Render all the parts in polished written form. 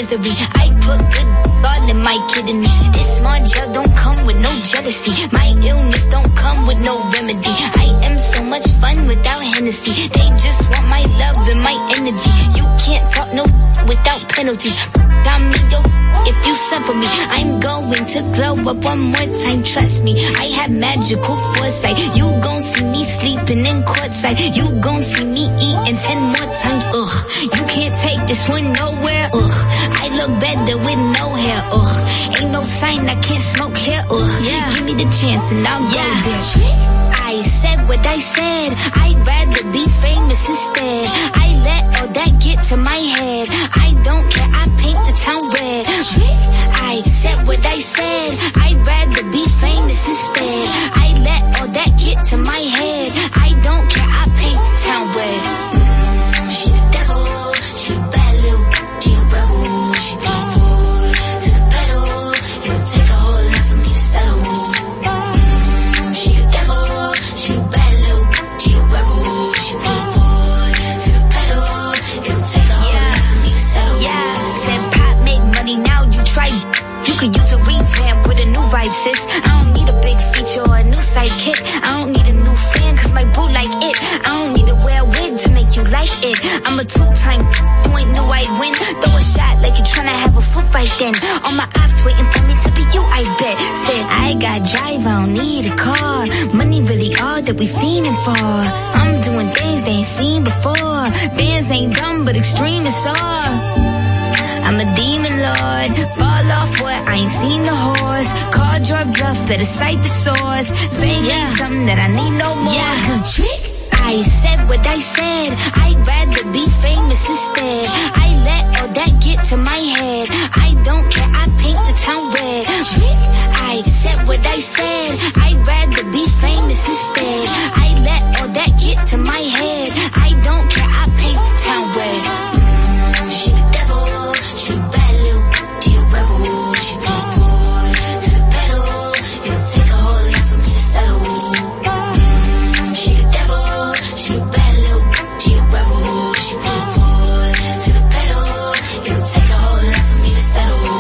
misery. I put good all in my kidneys. This small gel don't come with no jealousy. My illness don't come with no remedy. I am so much fun without Hennessy. They just want my love and my energy. You can't talk no without penalties. I'm yo, if you suffer me, I'm going to glow up one more time. Trust me, I have magical foresight. You gon' see me sleeping in courtside. You gon' see me eating 10 more times. Ugh, you can't take this one nowhere. Ugh, I look better with no hair. Ugh, ain't no sign I can't smoke here. Ugh, yeah. Give me the chance and I'll go there. I said what I said. I'd rather be famous instead. I let all that get to my head. I don't care, I paint the town red. I said what I said. I'd rather be famous instead. I let all that get to my head. I don't care, I paint the town red. She the devil, she a bad little, she a rebel. She put forward to the pedal. It'll take a whole lot for me to settle. She the devil, she a bad little, she a rebel. She put forward to the pedal. It'll take a whole lot for me to settle. Yeah, said pop make money, now you try. You could use a revamp with a new vibe, sis. I don't need a big feature or a new sidekick. I don't need a new fan, cause my boo like it. I don't need to wear a wig to make you like it. I'm a two-time, you ain't know I'd win. Throw a shot like you tryna have a foot fight then. All my ops waiting for me to be you, I bet. Said, I got drive, I don't need a car. Money really all that we fiending for. I'm doing things they ain't seen before. Bands ain't dumb, but extreme is all. I'm a demon lord, fall off what, I ain't seen the horse. Called your bluff, better cite the source. Fame ain't something that I need no more. Yeah, cause trick, I said what I said. I'd rather be famous instead. I let all that get to my head. I don't care, I paint the town red. Trick, I said what I said. I'd rather be famous instead. I let all that get to my head. I don't care, I paint the town red. She the devil, she a bad little, she a rebel. She put forward to the pedal. It'll take a whole lot for me to settle. She the devil, she a bad little, she a rebel. She put forward to the pedal. It'll take a whole lot for me to settle.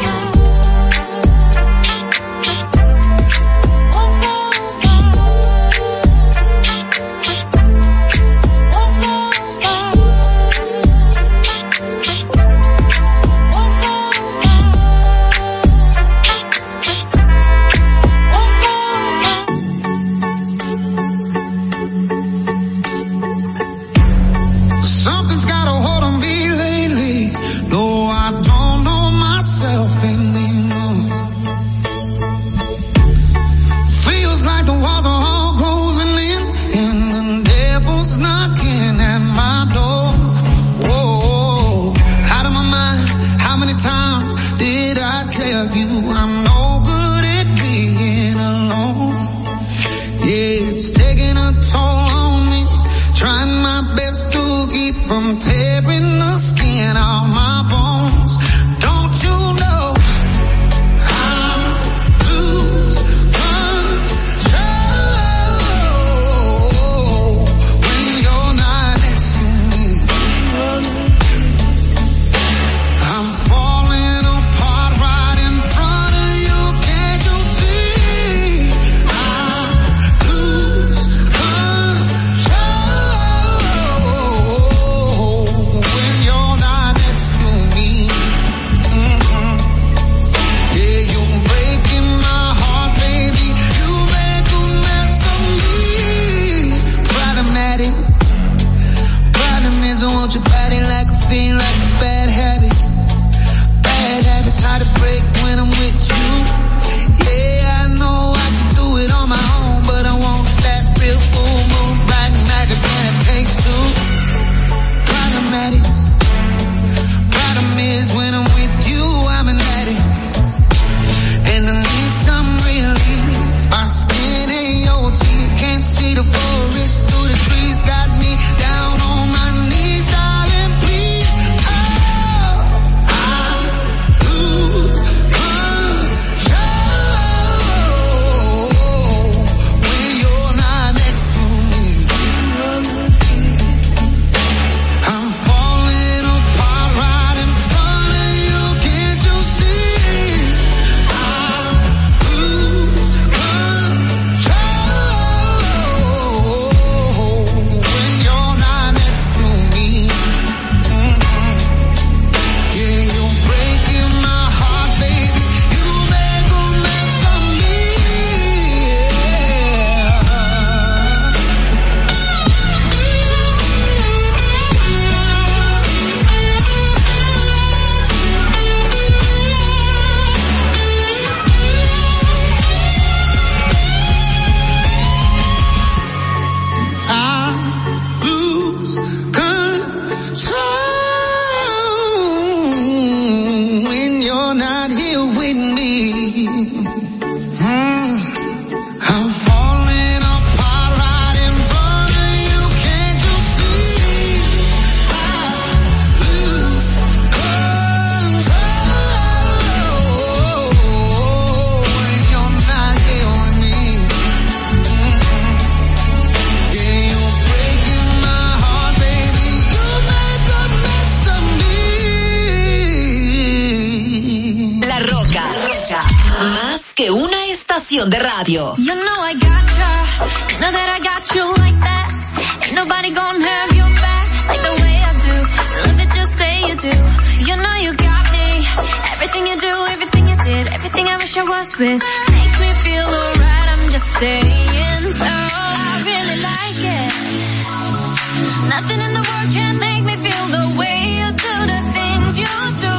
Something's got a hold on me lately. No, I don't know myself anymore. Feels like the walls are all closing in, and the devil's knocking at my door. Whoa, out of my mind. How many times did I tell you I'm no good at being alone? Yeah, it's taking a toll on me. Trying my best to keep from tearing the skin off my bones. Don't you know I'm lose control when you're not next to me? I'm falling apart right in front of you. Can't you see? I lose control. estación de radio. You know I gotcha, you know that I got you like that. Ain't nobody gonna have your back like the way I do. Love it, just say you do. You know you got me. Everything you do, everything you did, everything I wish I was with makes me feel alright. I'm just saying, so I really like it. Nothing in the world can make me feel the way you do the things you do.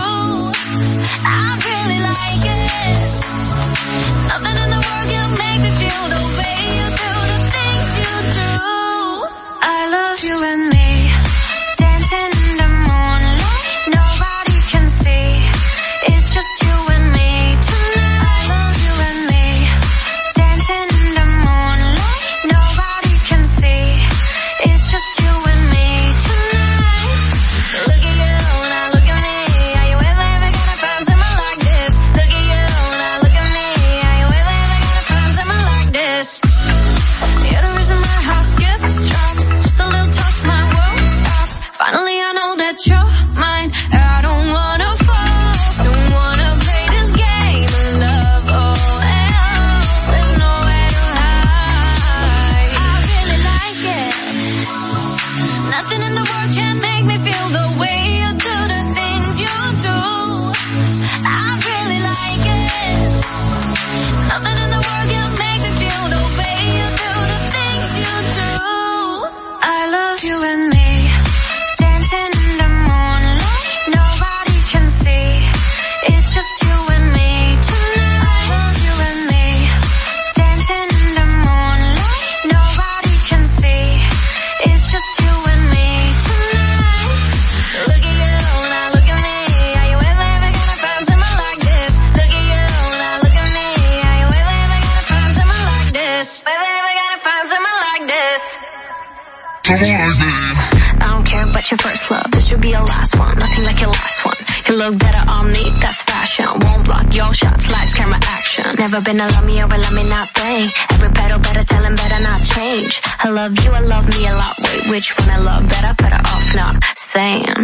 I really like it. Nothing in the world can make me feel the way you do the things you do. I love you and me, dancing in the moonlight, nobody can see. It's just you and me tonight. I love you and me, dancing in the moonlight, nobody can see. It's just you and me tonight. Look at you, now look at me. Are you ever gonna find someone like this? Look at you, now look at me. Are you ever gonna find someone like this? You're the reason my heart skips, drops. Just a little touch, my world stops. Finally I know that you're mine. I don't wanna fall, don't wanna play this game of love. Oh, there's nowhere to hide. I really like it. Nothing in the world can make me feel the way you do the things you do. I really like it. Nothing in the world can make me feel the way you do the things you do. I love you and me, dancing in the moonlight, nobody can see. It's just you and me tonight. I love you and me, dancing in the moonlight, nobody can see. It's just you and me tonight. Look at you, now look at me. Are you ever gonna find someone like this? Look at you, now look at me. Are you ever gonna find someone like this? Ever gonna find someone like this? I don't care about your first love, this should be your last one. Nothing like your last one. You look better on me, that's fashion. Won't block your shots, lights, camera, action. Never been a love me or a love me not thing. Every battle better tell him better not change. I love you, I love me a lot. Wait, which one I love better? Better off not saying.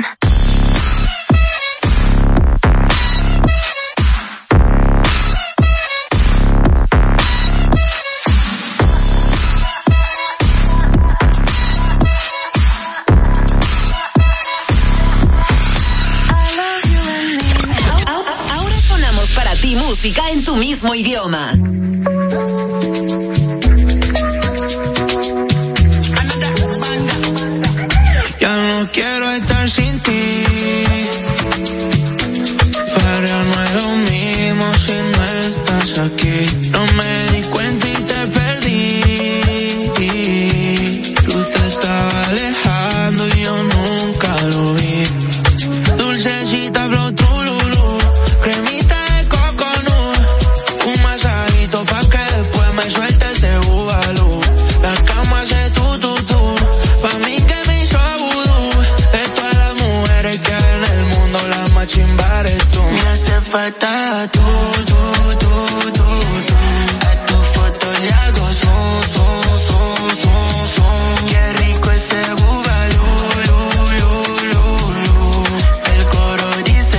Ahora sonamos para ti música en tu mismo idioma. Ya no quiero estar sin ti. Para no es lo mismo si no estás aquí. No me di cuenta y te perdí. Tú te estabas alejando y yo nunca lo vi. Dulcecita flow trululú, cremita de coconut, un masajito pa' que después me suelte ese bubalú. La cama hace tú, pa' mí que me hizo vudú. De todas las mujeres que hay en el mundo, la más chimba eres tú. Me hace falta tú. A tu foto le hago son. Qué rico ese bubalú, el coro dice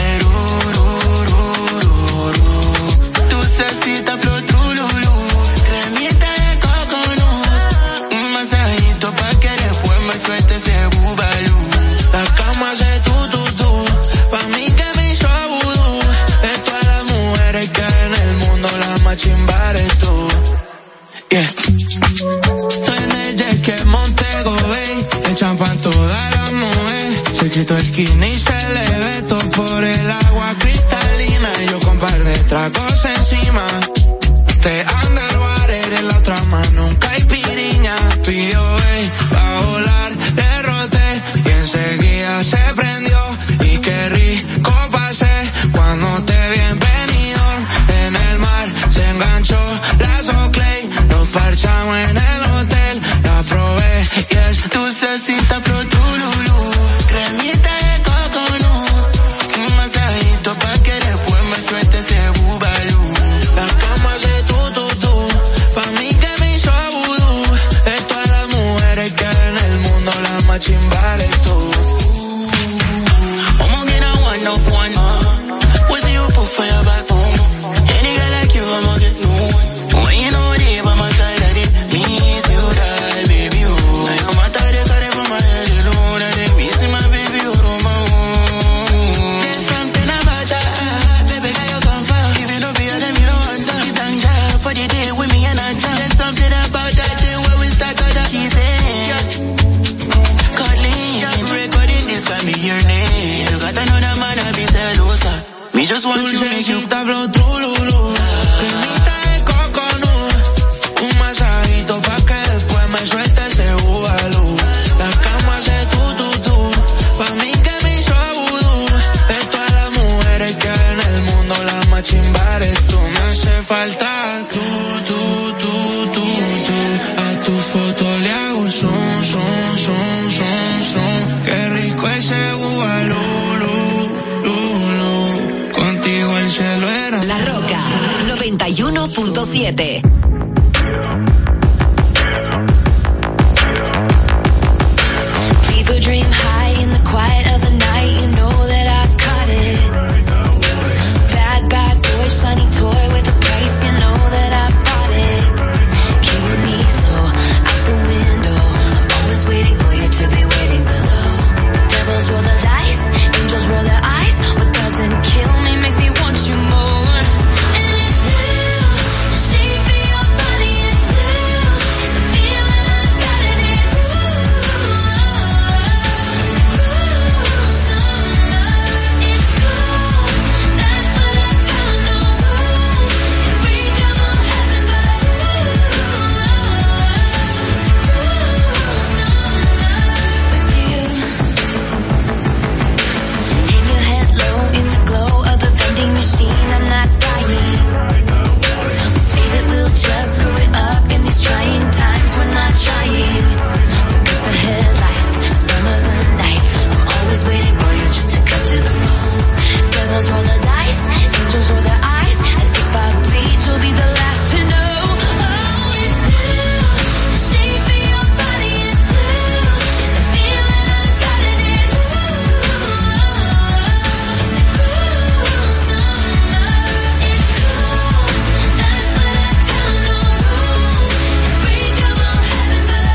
dulcecita flor trululú, cremita de coconut, un masajito pa' que después me suelte ese bubalú. La cama hace tú, pa' mí que me hizo vudú. De todas las mujeres que hay en el mundo, la más chimba eres tú. Yeah. Estoy en el jet que Montego Bay, el champán toda la mujer. Se quitó el skinny y se le ve todo por el agua cristalina. Y yo con par de tragos encima. Te underwater en la otra mano, nunca hay piriña. Pidió pa' volar, le roté y enseguida se prendió. Y qué rico pasé cuando te vi en Benidorm. En el mar se enganchó la Soclay, nos parchamos en el hotel, la probé y es dulcecita flor trululú, cremita de coconut, un masajito pa' que después me suelte ese bubalú. La cama hace tú, pa' mí que me hizo vudú. De todas las mujeres que 91.7. People dream high in the quiet of the night. You know that I caught it. Bad boy, shiny toy with a price. You know that I bought it. Killing me slow out the window. I'm always waiting for you to be waiting below. Devils roll the dice, angels roll their eyes. What doesn't kill me makes me want you more. And it's blue, the shape of your body is blue. The feeling I've got it is blue. It's cool, that's what I tell them, no rules. Unbreakable heaven, but hang your head low in the glow of the vending machine. I'm not dying. We say that we'll just screw it up in these trying times. We're not trying. So cut the headlights. Summer's the night. I'm always waiting for you just to cut to the bone. Devils roll the dice. Angels roll their eyes. And if I bleed, you'll be the last to know. Oh, it's blue. The shape of your body is blue. The feeling I've got it is blue. It's cool, that's what I tell them, no rules. Unbreakable heaven, but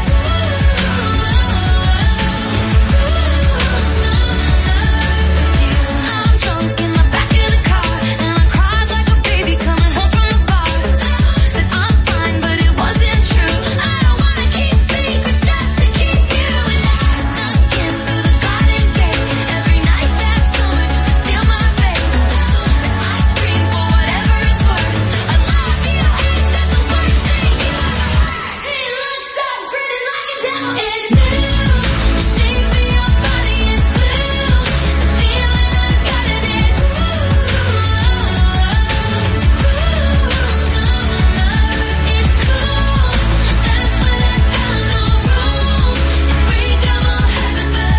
I'm drunk in the back of the car, and I cried like a baby coming home from the bar. Said I'm fine, but it wasn't true. I don't wanna keep secrets just to keep you alive. Snuck in through the garden gate every night that summer just to steal my babe. And I scream for whatever it's worth. I love you, ain't that the worst thing you heard? He looks up, grinning like a devil. It's blue, the shape of your body is blue. The feeling I've got it is blue. It's cool, that's what I tell them, no rules. Unbreakable heaven, but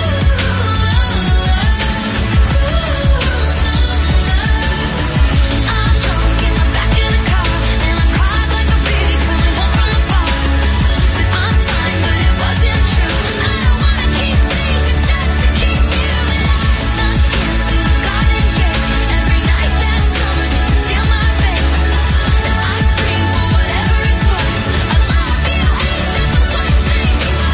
I'm drunk in the back of the car, and I cried like a baby coming home from the bar. Said I'm fine, but it wasn't true. I don't wanna keep secrets just to keep you alive. Snuck in through the garden gate every night that summer just to steal my babe. And I scream for whatever it's worth. I love you, ain't that the worst thing you ever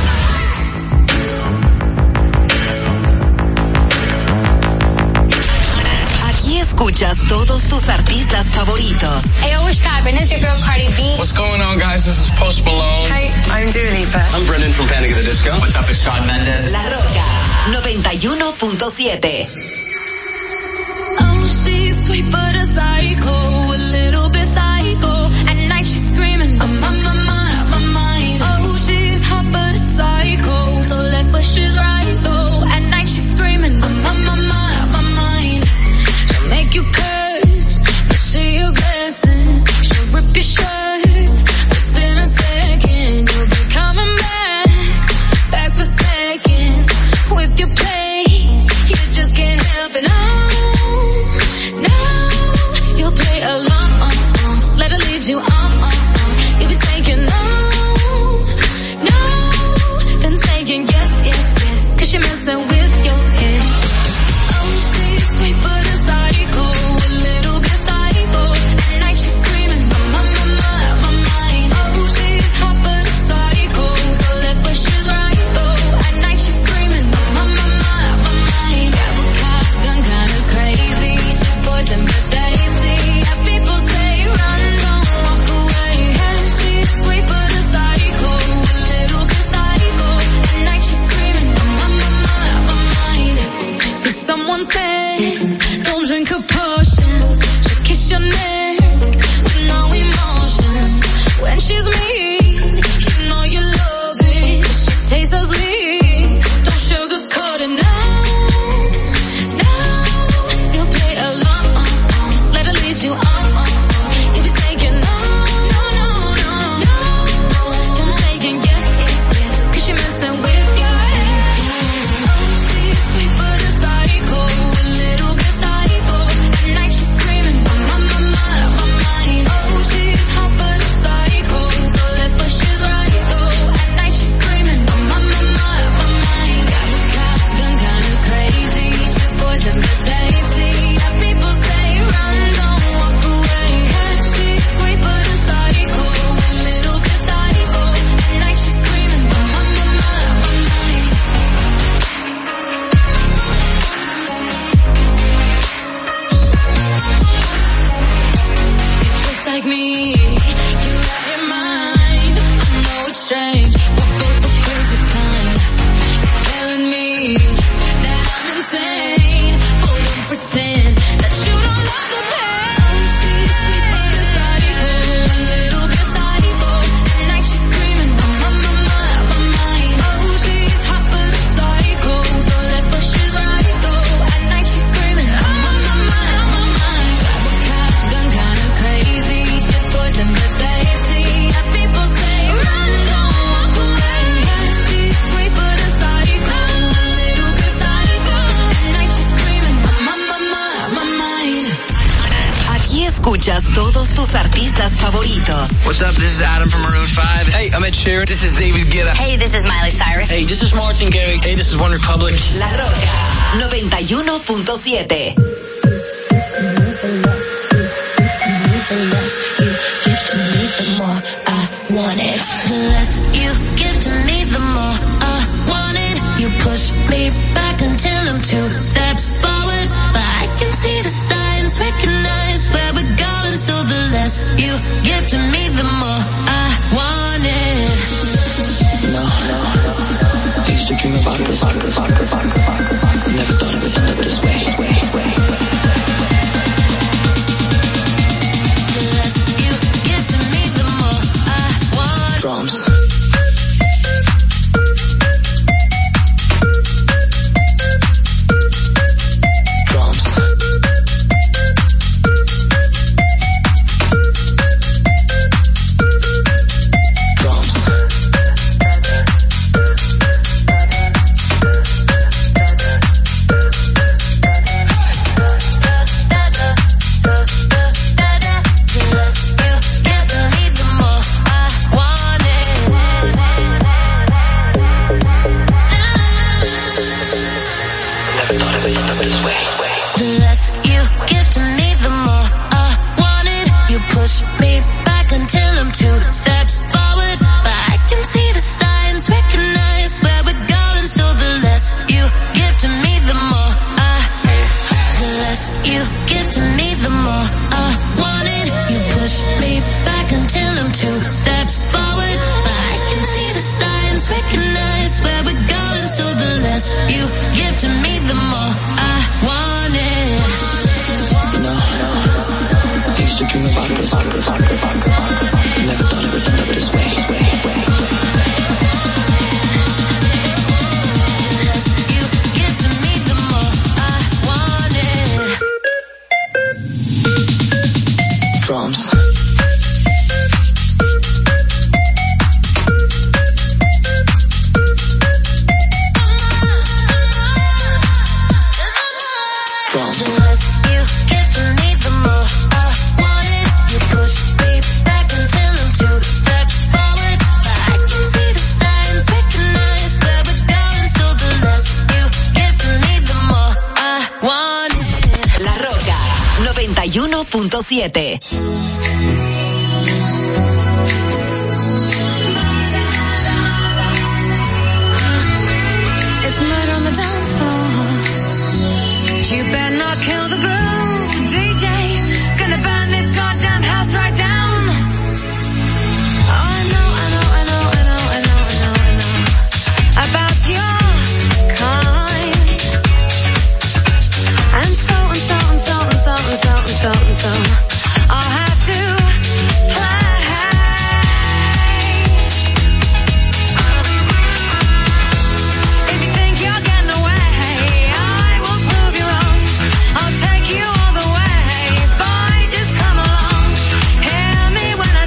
heard? Aquí escuchas todos tus artistas favoritos. Hey, what's poppin'? It's your girl Cardi B. What's going on, guys? This is Post Malone. Hi, I'm Dua Lipa. I'm Brendan from Panic! At the Disco. What's up? It's Shawn Mendes. La Roca 91.7. Oh, she's sweet but a psycho, a little bit psycho. At night she's screaming, I'm on my mind. Oh, she's hot but a psycho, so left but she's right though. At night she's screaming, I'm on my mind. She'll make you curse, but she a blessing. She'll rip your shirt within a second. You'll be coming back for second with your play. You just can't help it. No, you'll play along. Let her lead you on. You'll be saying no, then saying yes, 'cause you're messing with your head. Oh, she's sweet but a psycho, a little bit psycho. At night she's screaming, I'm on my mind. Oh, she's hot but a psycho, so left but she's right though. At night she's screaming, I'm on my mind. Grab a shotgun, kinda crazy. She's poison but tasty. Yeah, people say run, don't walk away. Yeah, she's sweet but a psycho, a little bit psycho. At night she's screaming, I'm on my mind. So someone said, don't drink her potions. She'll kiss your neck with no emotion. When she's mean, you know you love it. She tastes so sweet, don't sugarcoat it, no. You'll play along, let her lead you on. You'll be saying no, then saying yes, 'cause you're messing with your head. Oh, she's sweet but a psycho, a little bit psycho. At night she's screaming, I'm on my mind. Oh, she's tus artistas favoritos. What's up? This is Adam from Maroon 5. Hey, I'm Ed Sheeran. This is David Guetta. Hey, this is Miley Cyrus. Hey, this is Martin Garrix. Hey, this is One Republic. La Roca 91.7. Want it. The less you give to me, the more I want it. You push me back until I'm 2 steps forward, but I can see the signs, recognize where we're going. So the less you give to me, the more I want it. No, I used to dream about this. Never thought it would end up this way. Drums.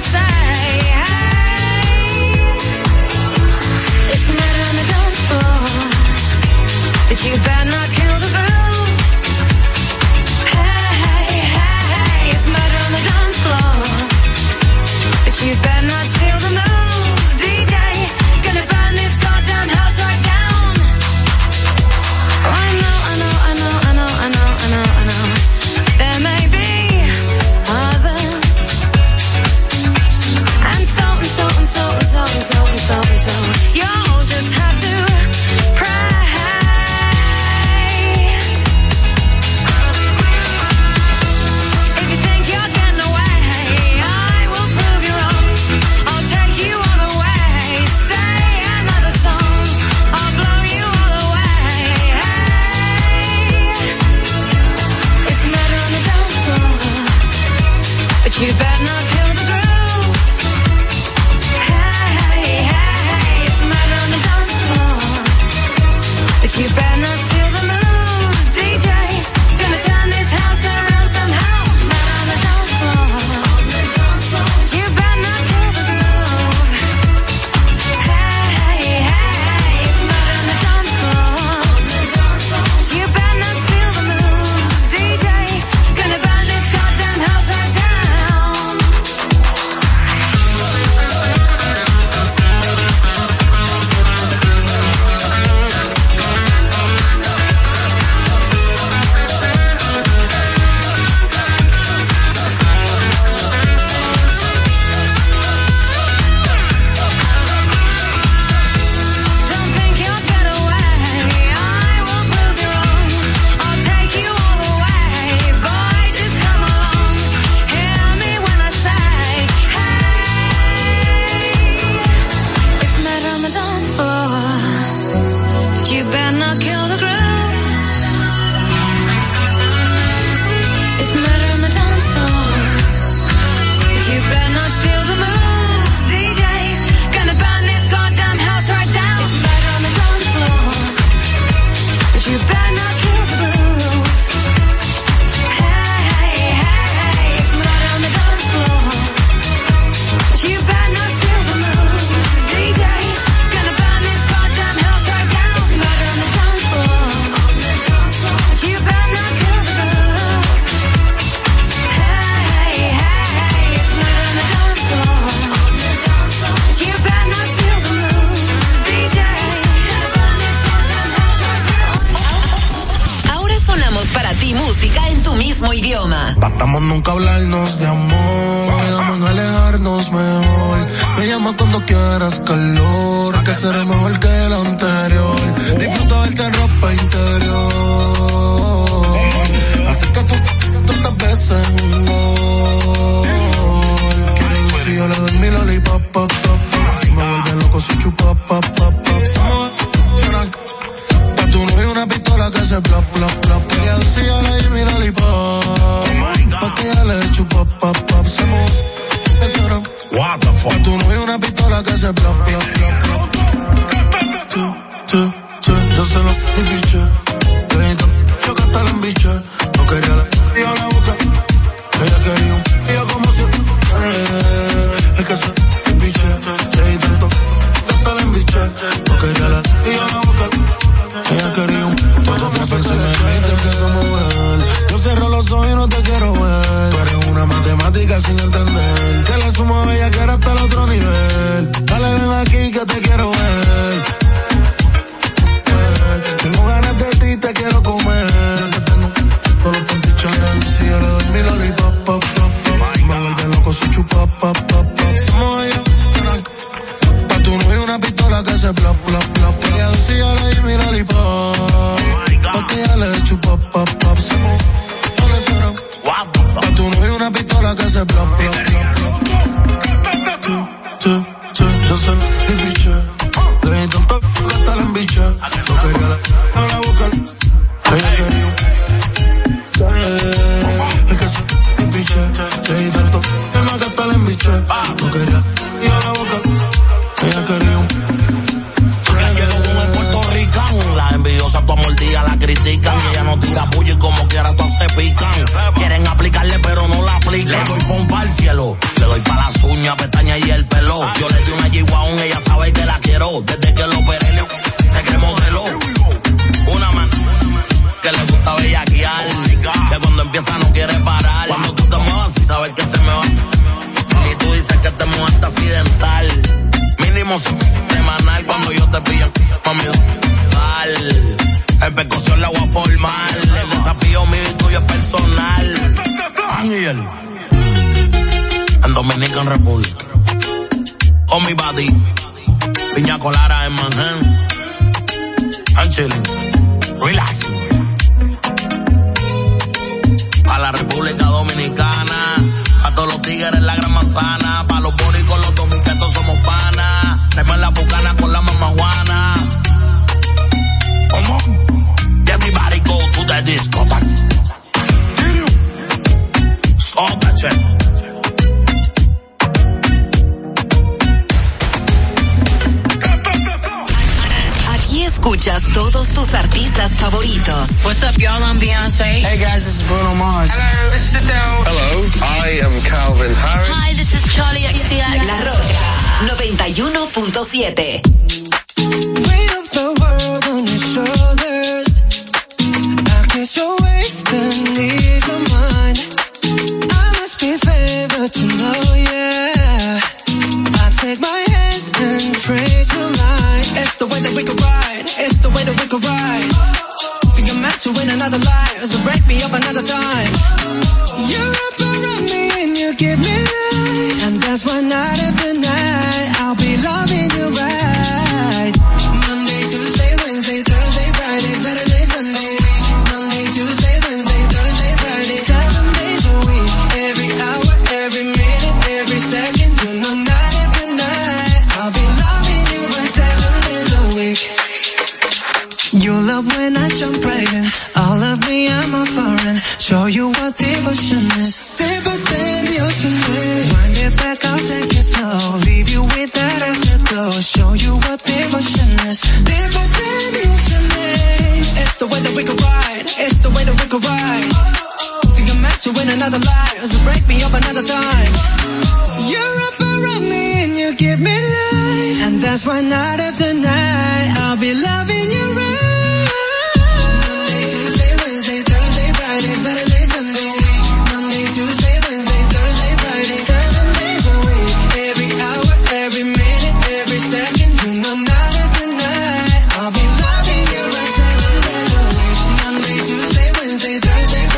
It's murder on the dance floor. y música en tu mismo idioma. Tratamos nunca hablarnos de amor, quedamos alejarnos mejor. Me llama cuando quieras calor, que será mejor que el anterior. Disfruta verte en ropa interior, así que tú tantas veces un gol. Si yo le doy mi lollipop, pop, pop, si me vuelve loco si chupa, pop, pop, pop. Pa' tu novio una pistola que se plop, plop, plop. Ella dice yo le doy mi lollipop, pa' que ella le chupa, pop, pop. Se move, what the fuck. Pa' tu novio una pistola que se plop, plop, plop, plop. Yo se lo piché, yo que hasta la embiché. No quería la yo la boca, ella quería un yo como si es que se embiché, leí tanto que hasta la embiché. No quería la yo la boca, ella quería un todo me pensé en mí, te empiezo a mover. Yo cierro los ojos y no te quiero ver. Tú eres una matemática sin entender, que le sumo a bella que era hasta el otro nivel. Dale ven aquí que te quiero ver. Tengo ganas de ti, te quiero comer. Ya te tengo todos los pantichones. Si yo le doy mi lollipop, pop, pop, pop. Me vuelve loco si chupa, pop, pop, pop. Somos ellos, pa' tu novio una pistola que se plop, plop, plop. Ella dice si yo le doy mi lollipop, pa' que ella le chupa, pop, pop. Somos, no le suenan. Pa' tu novio una pistola que se plop, plop, plop, plop. Yo se lo piché. Le di tanto que hasta la embiché. No quería la boca, ella quería es que se embiché. Le di tanto que hasta la embiché. No quería la boca, ella quería Llego con el puertorricano, las envidiosas tu mordida la critican. Y ella no tira puño y como quiera todas se pican. Quieren aplicarle pero no la aplican. Le doy pompa al cielo, le doy pa' las uñas, pestañas y el pelo. Yo le di una G-Wagon, ella sabe que la quiero. Desde que lo operé se cree modelo. Una mano que le gusta bellaquear, que cuando empieza no quiere parar. Cuando tú te muevas y sabes que se me va. Y tú dices que te mueves accidental. Mínimo semanal cuando yo te pillo, mami, dale. En percusión la voy a formar. El desafío mío y tuyo es personal. Ángel. En Dominican Republic. Oh, mi body. Piña colada en Manhattan. I'm chilling. Relax. A la República Dominicana. A todos los tigres en la Gran Manzana. Pa' los boricos, los dominicanos somos panas. Traemos la bucana con la mamá Juana. Come on. Everybody go to the discotheque. Stop that shit. Aquí escuchas todos tus artistas favoritos. What's up, y'all? I'm Beyonce. Hey guys, this is Bruno Mars. Hello, this is Adele. Hello, I am Calvin Harris. Hi, this is Charlie XCX. La Roca 91.7. Weight of the world on your shoulders. I guess you're wasting ease of mind. I must be favored to know, yeah. I take my hands and praise your lies. It's the way that we could ride. It's the way that we could ride. Think I'm meant to win another life, so break me up another time. You're up around me and you give me life, and that's why night after night I'll be loving you right. Monday, Tuesday, Wednesday, Thursday, Friday, Saturday, Sunday. Monday, Tuesday, Wednesday, Thursday, Friday, 7 days a week. Every hour, every minute, every second. You know night after night I'll be loving you for 7 days a week. You love when I jump right in. All of me, I'm a foreign. Show you what devotion is. Deeper than the ocean is. Wind it back, I'll take it slow. Leave you with that afterglow. Show you what devotion is. Deeper than the ocean is. It's the way that we could ride. It's the way that we could ride. Think I'm meant to win another life, so break me up another time. You're up around me and you give me life, and that's why night after night I'll be loving you right. Monday, Tuesday, Wednesday, Thursday, Friday, Saturday, Sunday. Monday, Tuesday, Wednesday, Thursday, Friday, 7 days a week. Every hour, every minute, every second. You know night after night I'll be loving you right 7 days a week. Monday, Tuesday, Wednesday, Thursday,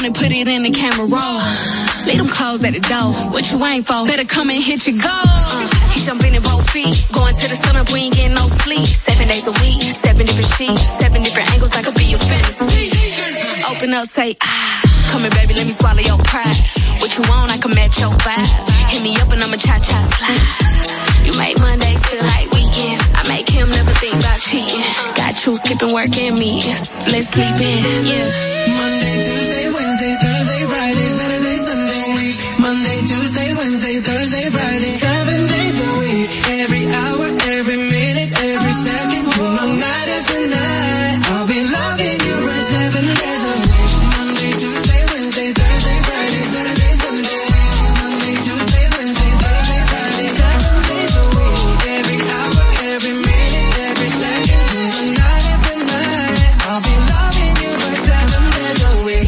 on and put it in the camera roll. Leave them clothes at the door. What you ain't for? Better come and hit your goal. He jumping in both feet. Going to the sun up, we ain't getting no sleep. 7 days a week, 7 different sheets, 7 different angles, I could be your fantasy. Open up, say, come here, baby, let me swallow your pride. What you want, I can match your vibe. Hit me up and I'ma cha-cha slide. You make Mondays feel like weekends. I make him never think about cheating. Got you skipping work and meetings. Let's sleep in, yeah. Monday, Tuesday, Wednesday, Thursday, Friday, Saturday, Sunday, week. Monday, Tuesday, Wednesday, Thursday, Friday, 7 days a week. Every hour, every minute, every second, you know, night after night, I'll be loving you right 7 days a week. Monday, Tuesday, Wednesday, Thursday, Friday, Saturday, Sunday. Monday, Tuesday, Wednesday, Thursday, Friday, 7 days a week. Every hour, every minute, every second, you know, night after night, I'll be loving you right 7 days a week.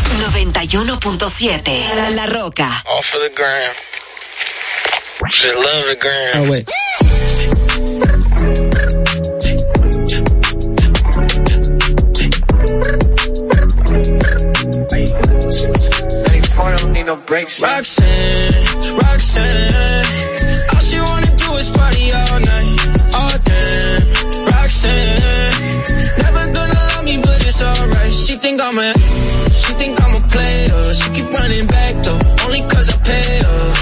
91.7 La Roca. All for the gram. Just love the gram. Oh, wait. Don't need no breaks. Roxanne, all she wanna do is party all night, all day. Roxanne, never gonna love me, but it's alright. She think I'm a player. She keep running back though, only cause I pay her.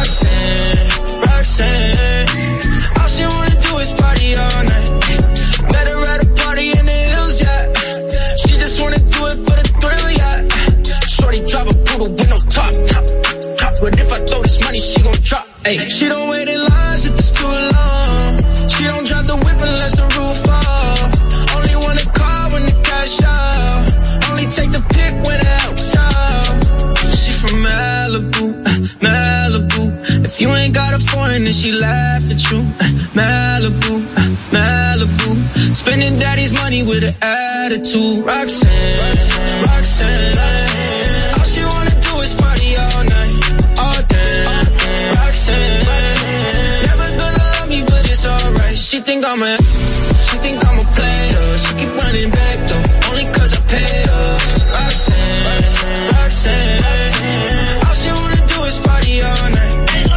Roxanne, all she wanna do is party all night. Met her at a party in the hills, yeah. She just wanna do it for the thrill, yeah. Shorty drive a poodle with no top. But if I throw this money, she gon' drop. Ay. She don't wait in lines if it's too long. She don't drive the whip unless the roof fall. Only want a car when the cash out. Only take the pick when the out's out. She from Malibu. If you ain't got a foreign, then she laugh at you. Malibu. Spending daddy's money with an attitude. Roxanne. All she wanna do is party all night, all day. Roxanne, never gonna love me, but it's alright. She think I'm a player. She keep running back though, only cause I pay her. Roxanne, all she wanna do is party all night.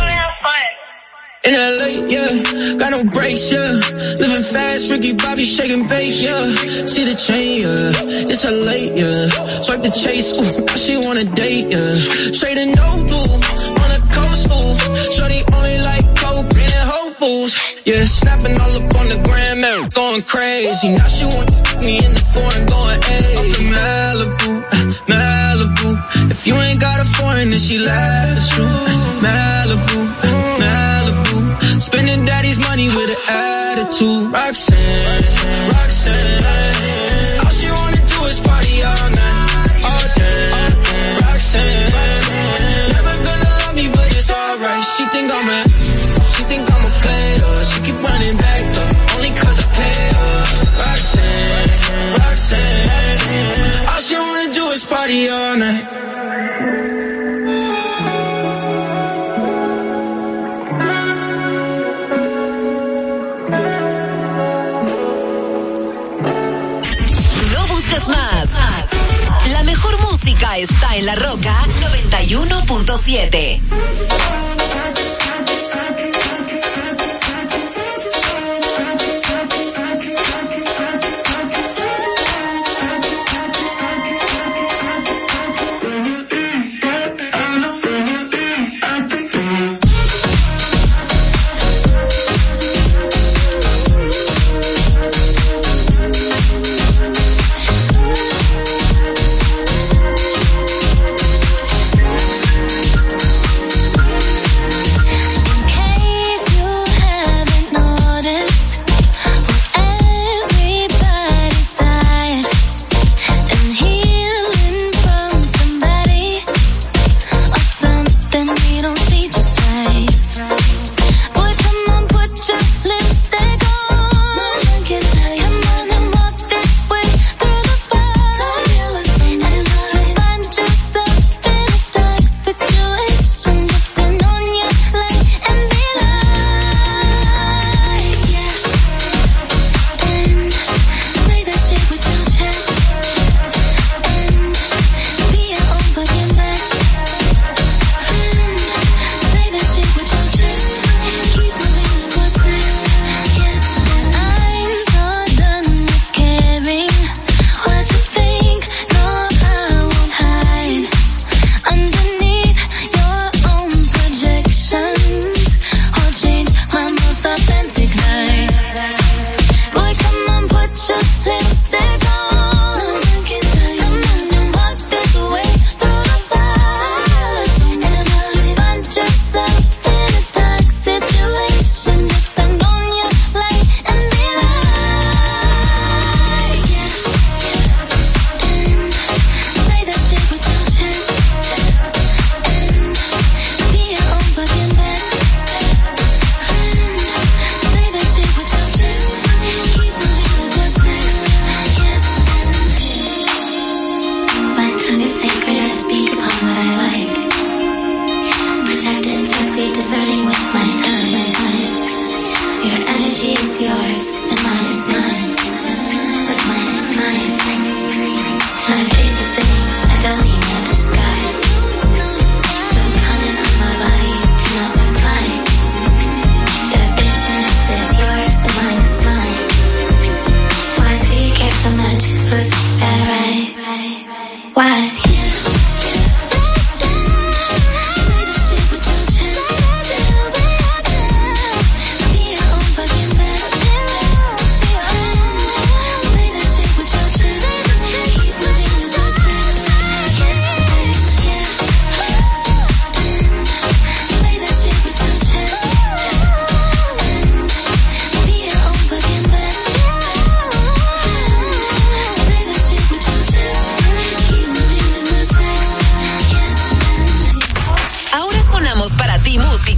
In LA, yeah, got no brakes, yeah. Living fast, Ricky Bobby shaking bait, yeah. See the chain, yeah, it's her late, yeah. Swipe the chase, ooh, now she wanna date, yeah. Straight and no blue, on the coast, ooh. Shorty only like Coke and Whole Foods, yeah. Snapping all up on the gram, man, going crazy. Now she wanna fuck me in the foreign, going, ayy. I'm from Malibu. If you ain't got a foreign, then she laughs at you. Malibu. Spending daddy's money with an attitude. Roxanne, all she wanna do is party all night, all day. Roxanne, never gonna love me, but it's alright. She think I'm a player. She keep running back though, only cause I pay her. Roxanne, all she wanna do is party all night. La mejor música está en La Roca 91.7.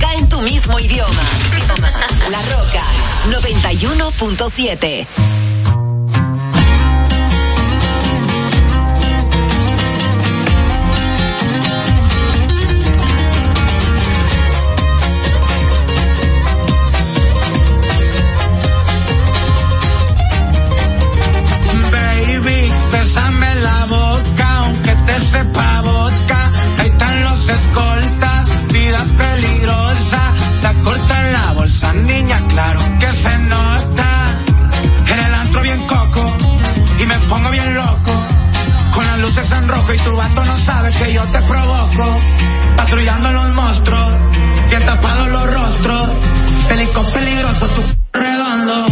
música en tu mismo idioma. La Roca 91.7. Bésame la boca, aunque te sepa vodka. Ahí están los escoltas, vida peligrosa. La corta en la bolsa, niña, claro que se nota. En el antro bien coco, y me pongo bien loco. Con las luces en rojo y tu vato no sabe que yo te provoco. Patrullando los monstruos, bien tapados los rostros. Pelicón peligroso, tu redondo.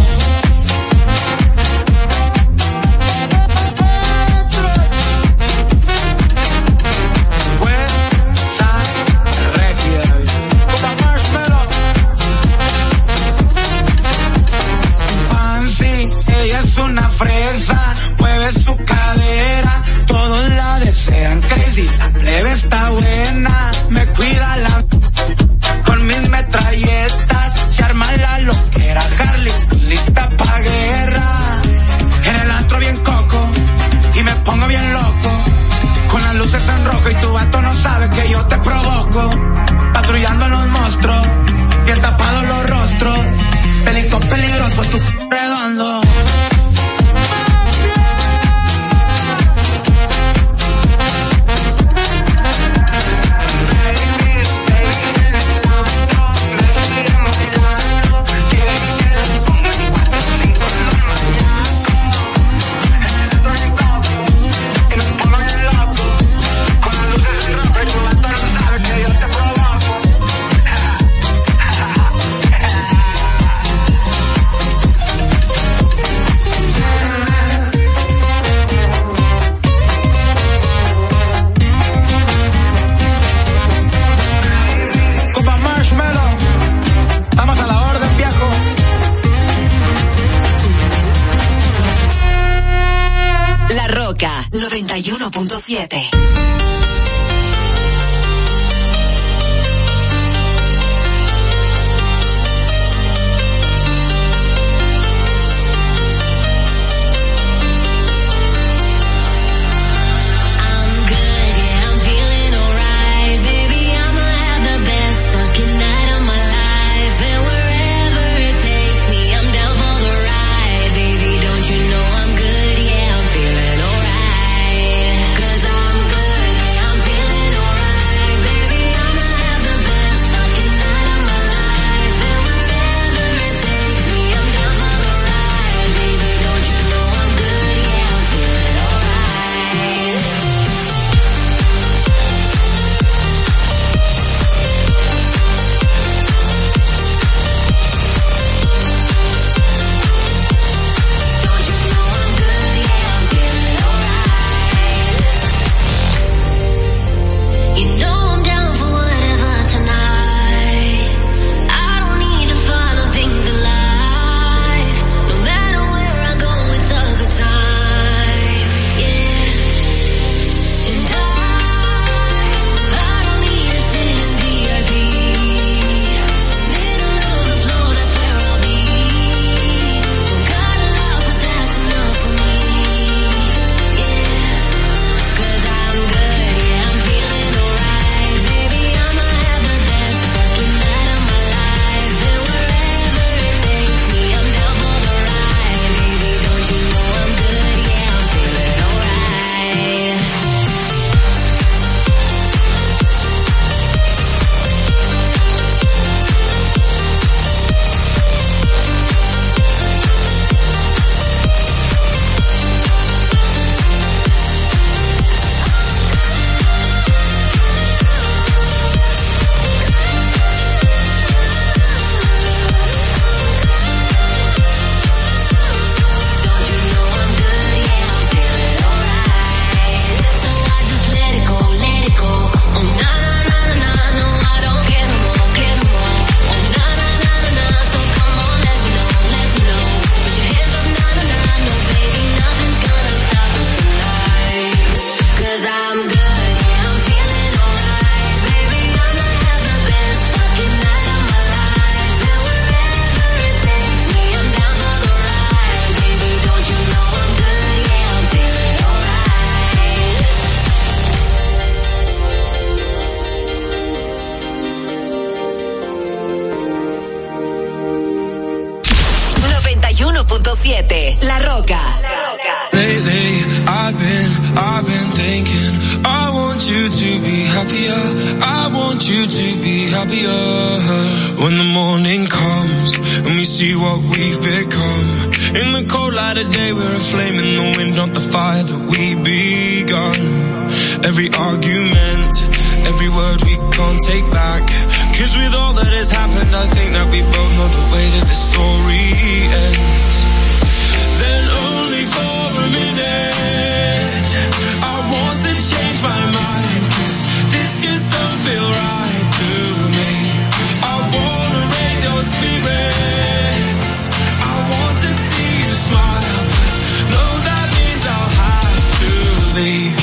Una fresa, mueve su cadera, todos la desean crazy, la plebe está buena, me cuida la con mis metralletas, se arma la loquera, Harley, lista pa' guerra, en el antro bien coco, y me pongo bien loco, con las luces en rojo y tu vato no sabe que yo te provoco, patrullando los monstruos, bien tapados los rostros, pelicón peligroso, tu redondo. La Roca 91.7. You know I'm good, yeah, I'm feeling alright. 'Cause I'm good. happier. When the morning comes and we see what we've become. In the cold light of day we're a flame in the wind, not the fire that we begun. Every argument, every word we can't take back. 'Cause with all that has happened, I think that we both know the way that the story ends. Then only for a minute, I want to change my mind, 'cause this just don't feel right to me. I wanna raise your spirits, I want to see you smile, but no, that means I'll have to leave.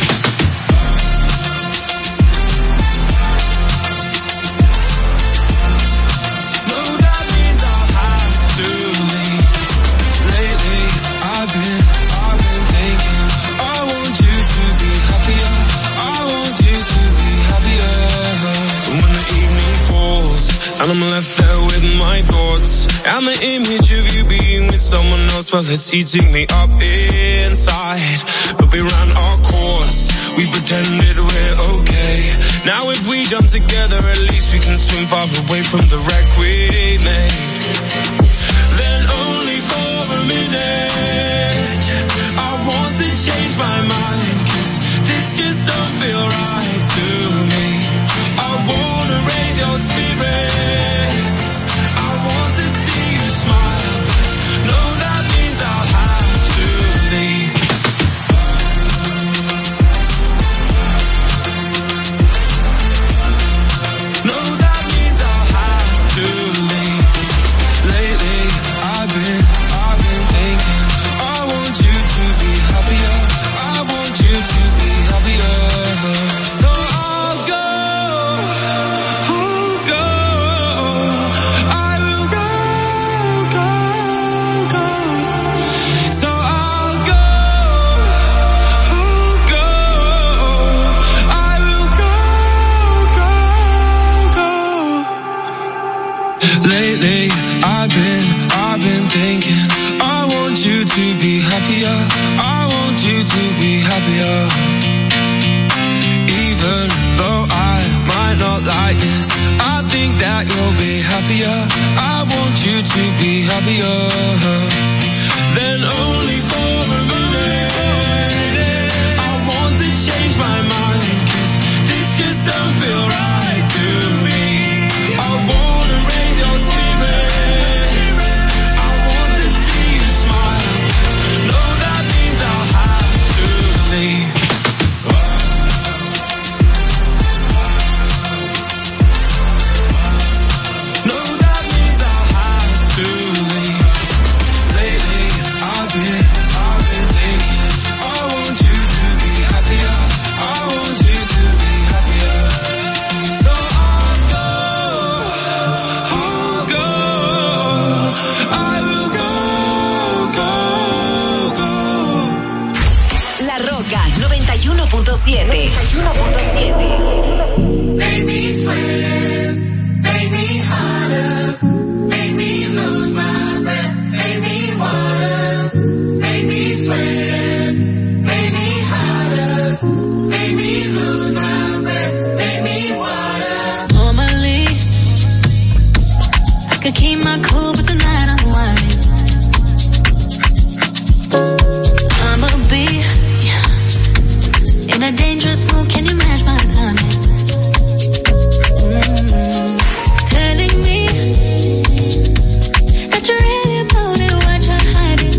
And I'm left there with my thoughts, and the image of you being with someone else, well, it's eating me up inside. But we ran our course, we pretended we're okay. Now if we jump together, at least we can swim far away from the wreck we made. Then only for a minute, I want to change my mind, 'cause this just don't feel right to me. I wanna raise your spirits, I want to see you smile, no, that means I'll have to leave. No, that means I'll have to leave. Lately, I've been thinking, I want you to be happier, I want you to be happier. So I'll go. Lately, I've been thinking, I want you to be happier, I want you to be happier. Even though I might not like this, I think that you'll be happier, I want you to be happier. Then only for a minute, I want to change my mind, 'cause this just don't feel right to me. I wanna raise your spirits, I want to see you smile, no, that means I'll have to leave. No, that means I'll have to leave. Lately, I've been thinking, I want you to be happier, I want you to be happier. So I'll go, I will go. La Roca 91.7. Make me sweat, make me harder, make me lose my breath, make me water, make me sweat, make me harder, make me lose my breath, make me water. Normally, I could keep my cool, but tonight I'm whining. I'ma be in a dangerous mood, can you match my timing? Telling me that you're really about it, what you're hiding.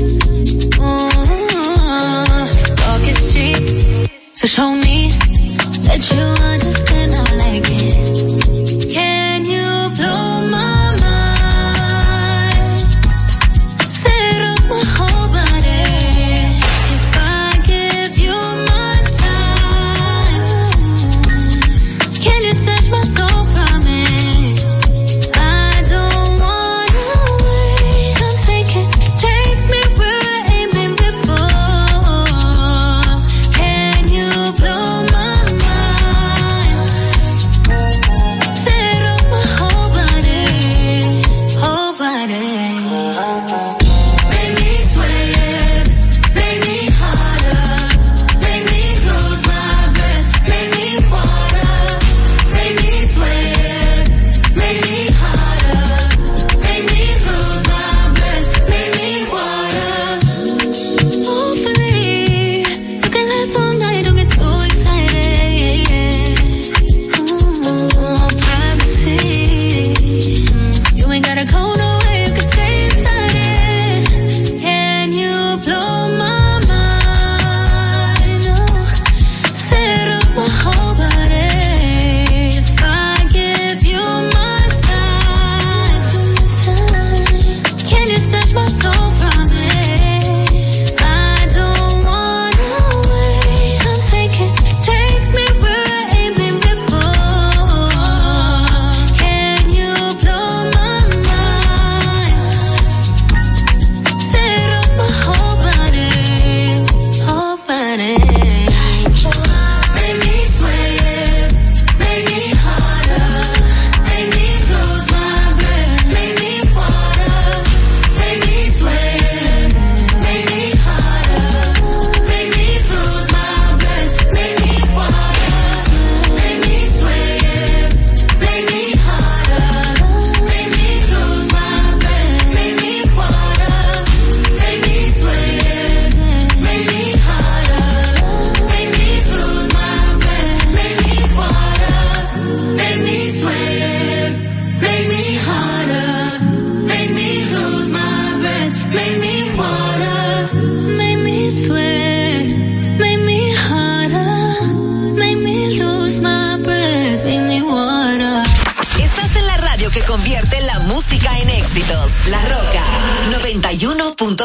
Talk is cheap, so show me that you understand I like it. Can you blow my mind? Set up my whole body. If I give you my time, can you snatch my soul from me? I don't wanna wait. Come take me where I ain't been before. Can you blow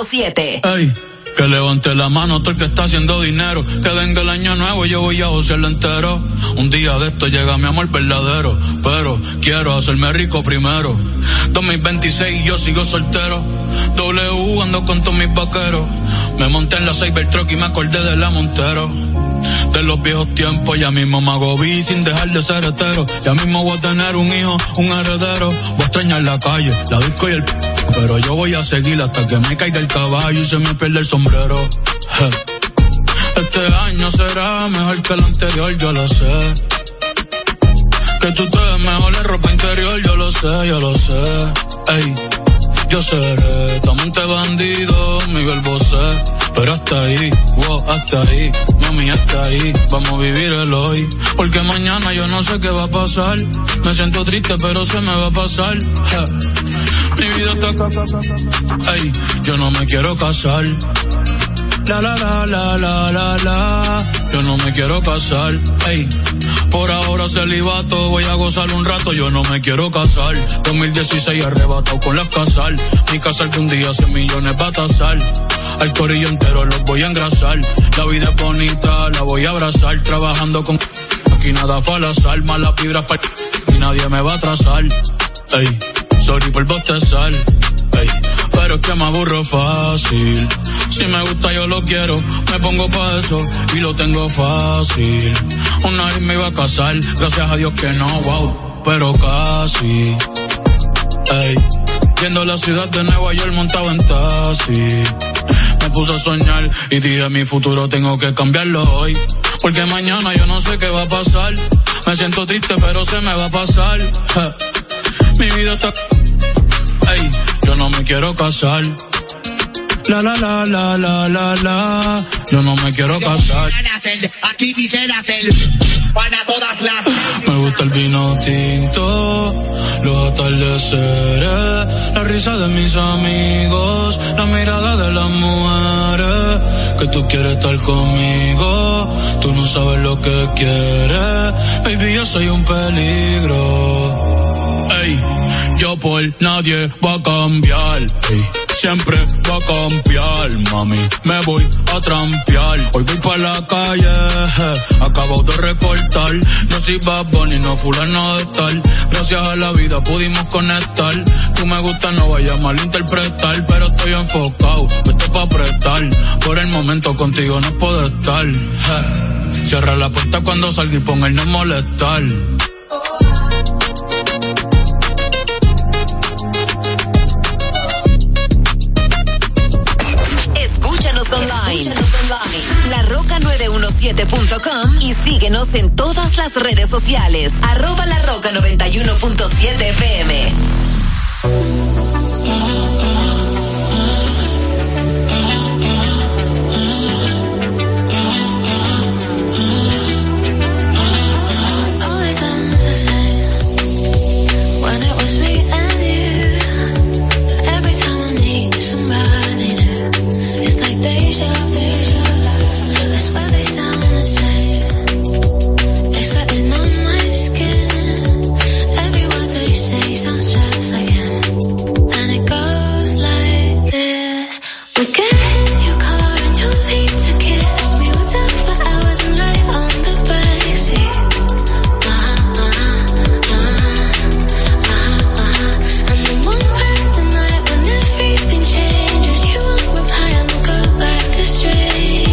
91.7. Ey, que levante la mano todo el que está haciendo dinero. Que venga el año nuevo y yo voy a josearlo entero. Un día de esto llega mi amor verdadero, pero quiero hacerme rico primero. 2026 y yo sigo soltero. W ando con todos mis vaqueros. Me monté en la Cybertruck y me acordé de la Montero. De los viejos tiempos, ya mismo me hago sin dejar de ser hetero. Ya mismo voy a tener un hijo, un heredero. Voy a extrañar la calle, la disco y el pero yo voy a seguir hasta que me caiga el caballo y se me pierda el sombrero. Este año será mejor que el anterior, yo lo sé. Que tú te ves mejor en ropa interior, yo lo sé. Ey, yo seré tu amante bandido, Miguel Bosé. Pero hasta ahí, wow, hasta ahí, mami, hasta ahí, vamos a vivir el hoy. Porque mañana yo no sé qué va a pasar. Me siento triste, pero se me va a pasar. Mi vida está... Ey, yo no me quiero casar. La. Yo no me quiero casar. Ey, por ahora celibato, voy a gozar un rato. Yo no me quiero casar. 2016 arrebatado con las casal. Mi casal que un día 100 millones va a tasar. Al corillo entero los voy a engrasar. La vida es bonita, la voy a abrazar. Trabajando con... Aquí nada fue al azar. Malas vibras para... Y nadie me va a atrasar. Ey, sorry por bostezar. Ey, pero es que me aburro fácil. Si me gusta yo lo quiero, me pongo pa' eso y lo tengo fácil. Una vez me iba a casar, gracias a Dios que no, wow, pero casi. Ey, viendo la ciudad de Nueva York montado en taxi. Me puse a soñar y dije mi futuro tengo que cambiarlo hoy. Porque mañana yo no sé qué va a pasar. Me siento triste pero se me va a pasar. Mi vida está... Ey, yo no me quiero casar. La. Yo no me quiero casar. Aquí dice la para todas las... Me gusta el vino tinto, los atardeceres, la risa de mis amigos, la mirada de las mujeres. Que tú quieres estar conmigo, tú no sabes lo que quieres. Baby, yo soy un peligro. Ey, yo por nadie voy a cambiar. Ey, siempre va a cambiar, mami, me voy a trampear. Hoy voy pa' la calle, acabo de recortar. No soy Bad Bunny, no fulano de tal. Gracias a la vida pudimos conectar. Tú me gusta, no vayas a malinterpretar. Pero estoy enfocado, esto pa' apretar. Por el momento contigo no puedo estar. Cierra la puerta cuando salga y ponga el no molestar. Online. LaRoca917.com y síguenos en todas las redes sociales. @LaRoca91.7 FM. Straight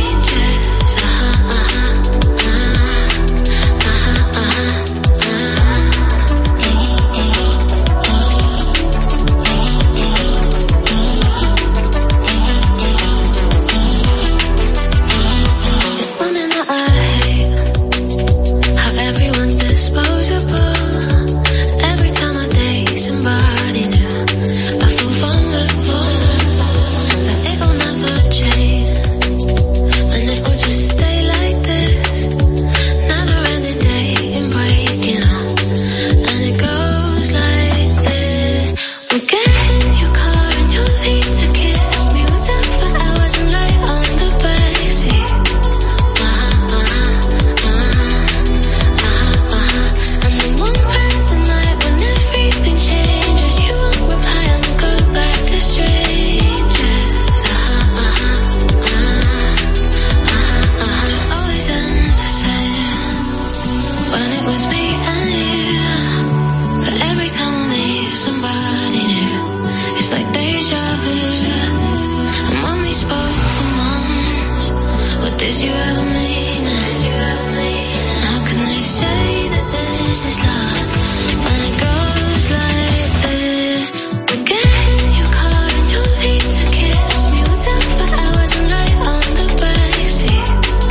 Did you ever mean it? Did you ever mean it? How can they say that this is love when it goes like this? We get in your car and you leave to kiss me. We'll talk for hours and night on the backseat.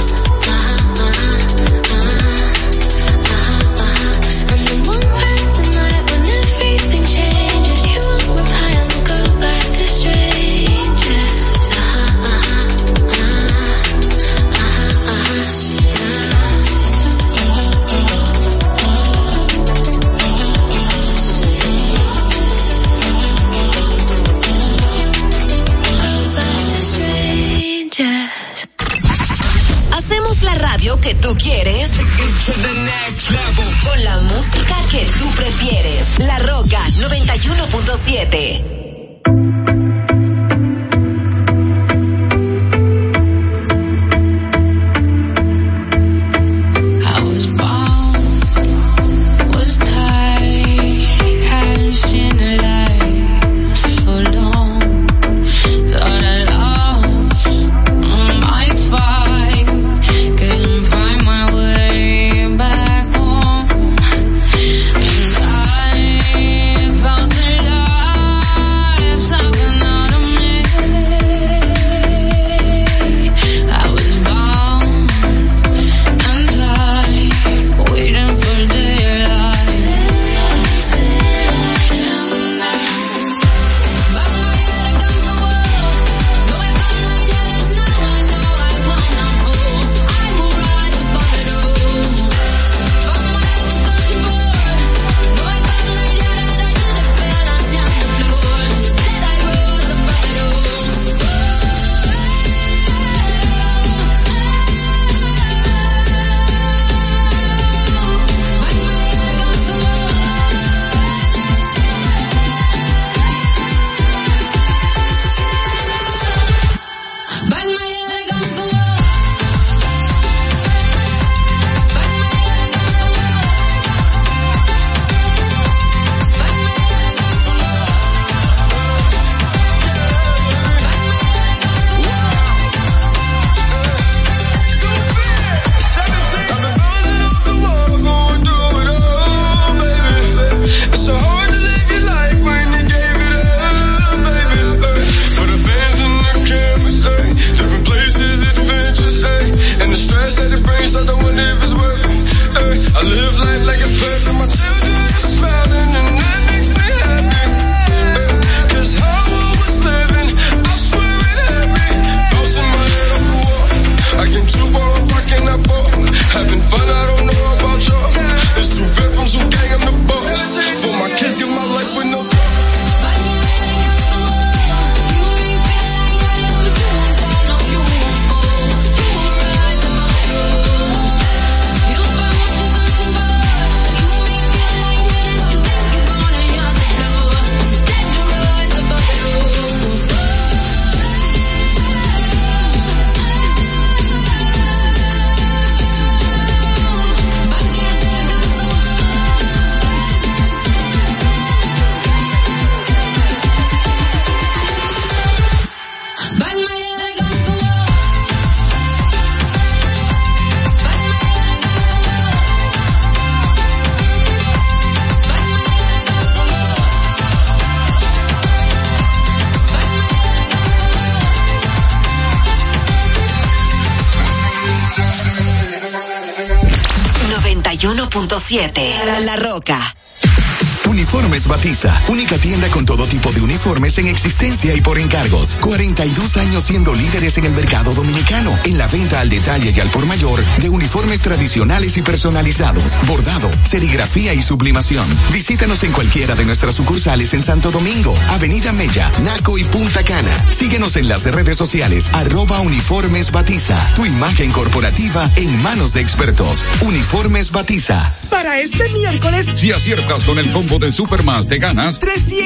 And then one bright night when everything changes, you won't reply and we'll go back to strangers. Hacemos la radio que tú quieres con la música que tú prefieres. La Roca 91.7. La Roca. Uniformes Batiza, única tienda con todo tipo de uniformes en existencia y por encargos. 42 años siendo líderes en el mercado dominicano, en la venta al detalle y al por mayor de uniformes tradicionales y personalizados, bordado, serigrafía y sublimación. Visítanos en cualquiera de nuestras sucursales en Santo Domingo, Avenida Mella, Naco y Punta Cana. Síguenos en las redes sociales, @Uniformes Batiza. Tu imagen corporativa en manos de expertos. Uniformes Batiza. Para este miércoles, si aciertas con el combo de Supermás, te ganas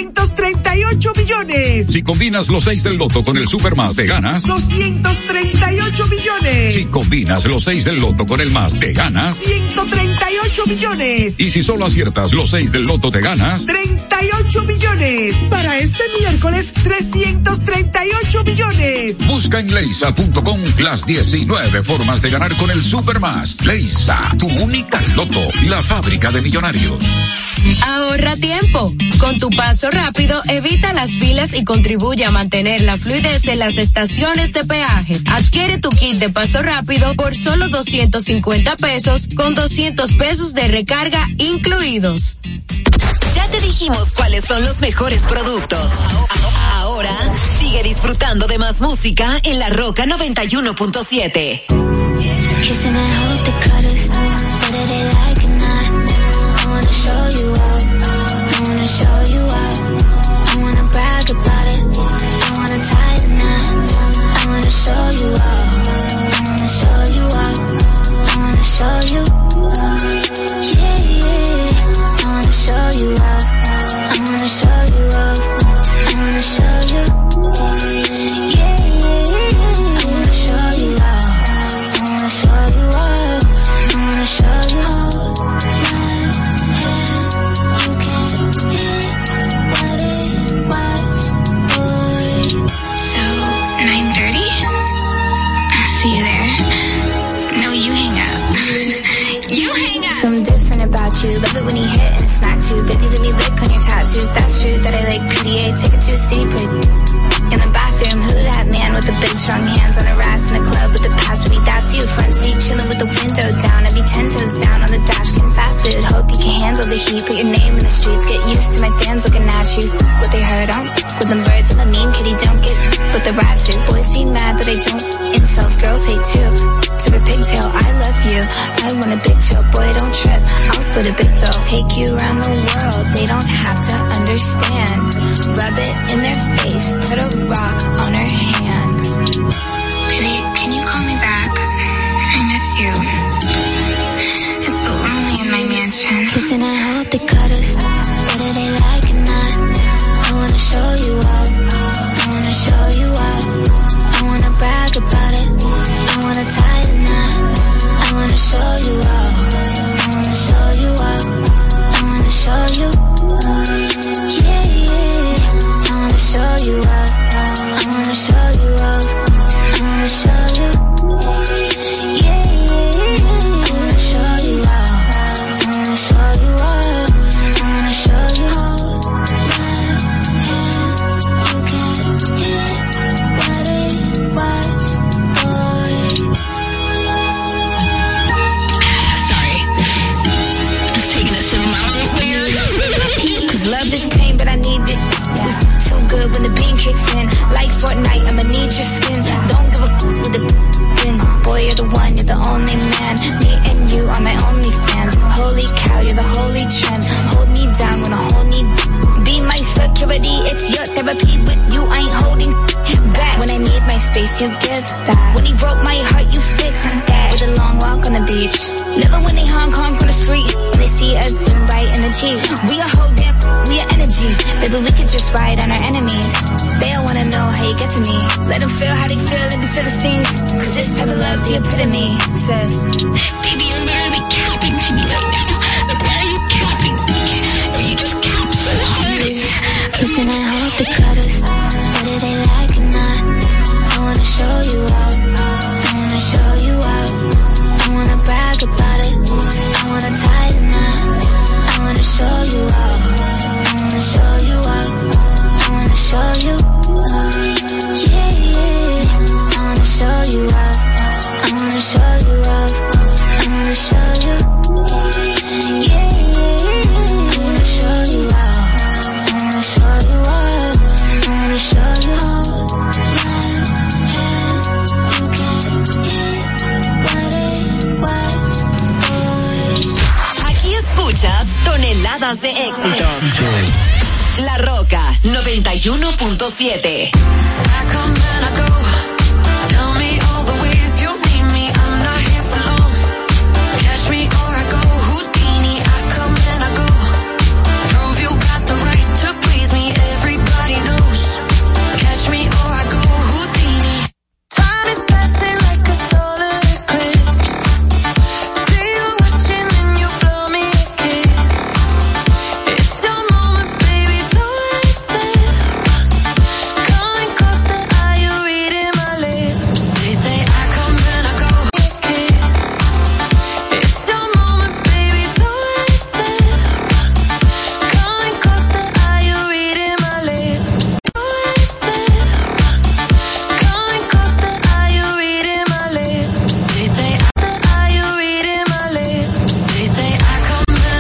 338 millones. Si combinas los 6 del loto con el Supermás, te ganas 238 millones. Si combinas los 6 del loto con el más, te ganas 138 38 millones. Y si solo aciertas los 6 del loto te ganas 38 millones. Para este miércoles, 338 millones. Busca en leisa.com las 19 formas de ganar con el Supermás. Leisa, tu única loto, la fábrica de millonarios. Ahorra tiempo. Con tu paso rápido, evita las filas y contribuye a mantener la fluidez en las estaciones de peaje. Adquiere tu kit de paso rápido por solo 250 pesos con 200 pesos de recarga incluidos. Ya te dijimos cuáles son los mejores productos. Ahora sigue disfrutando de más música en La Roca 91.7. You love it when he hit and smack too. Baby, let me lick on your tattoos. That's true that I like PDA. Take it to a city play. In the bathroom, who that man with the big strong hands on her ass in the club with the past for me? That's you. Front seat chilling with the window down. I be 10 toes down on the dash getting fast food. Hope you can handle the heat. Put your name in the streets. Get used to my fans looking at you. What they heard on with them birds. I'm a mean kitty. Don't get with the rats too. Boys be mad that I don't insult. Girls hate too. To the pigtail, I love you. I want a big chill, boy, don't trip. I'll split a big bill. Take you around the world, they don't have to understand. Rub it in their face, put a rock on her hand. Baby, can you call me back? I miss you. It's so lonely in my mansion. Listen, I hope they cut us, whether they like it or not. I wanna show you up, I wanna show you up. I wanna brag about it, I wanna tie the knot. I wanna show you up, I wanna show you up. I wanna show you, yeah, yeah. I wanna show you up, I wanna show you up. I wanna show you, yeah, yeah. I wanna show you up, I wanna show you up. I wanna show you hold my hand. You can't hit what it was, boy. Sorry. I was taking a sip of my own weird. Cause love is pain, but I need it. We too good when the beam kicks in. Like Fortnite, I'ma need your skin. Don't give a with the bin. Boy, you're the one, you're the only man. Me and you are my only fans. Holy cow, you're the holy trend. Hold me down when I hold me. Be my security, it's your therapy. With you, I ain't holding back. When I need my space, you give that. When he broke my heart, you fixed that. With a long walk on the beach. Never when they Hong Kong on the street. When they see us zoom right in the Jeep. We a whole damn, we a energy. Baby, we could just ride on our enemies. They all wanna know how you get to me. Let them feel how they feel, let me feel the stings. Cause this type of love's the epitome. Said, Baby, you're literally capping to me right now. Like, why are you capping? You just cap so hard. Listen, I hope they cut us, whether they like it or not. I wanna show you up, I wanna show you up. I wanna brag about it, I wanna tie the knot. I wanna show you up, I wanna show you up. I wanna show you, yeah, yeah. I wanna show you up, I wanna show you up. I wanna show you, yeah, yeah. I wanna show you up, I wanna show you up. I wanna show you hold my hand. You can't hit what it was, boy. Aquí escuchas toneladas de éxitos. La Roca 91.7. I come and I go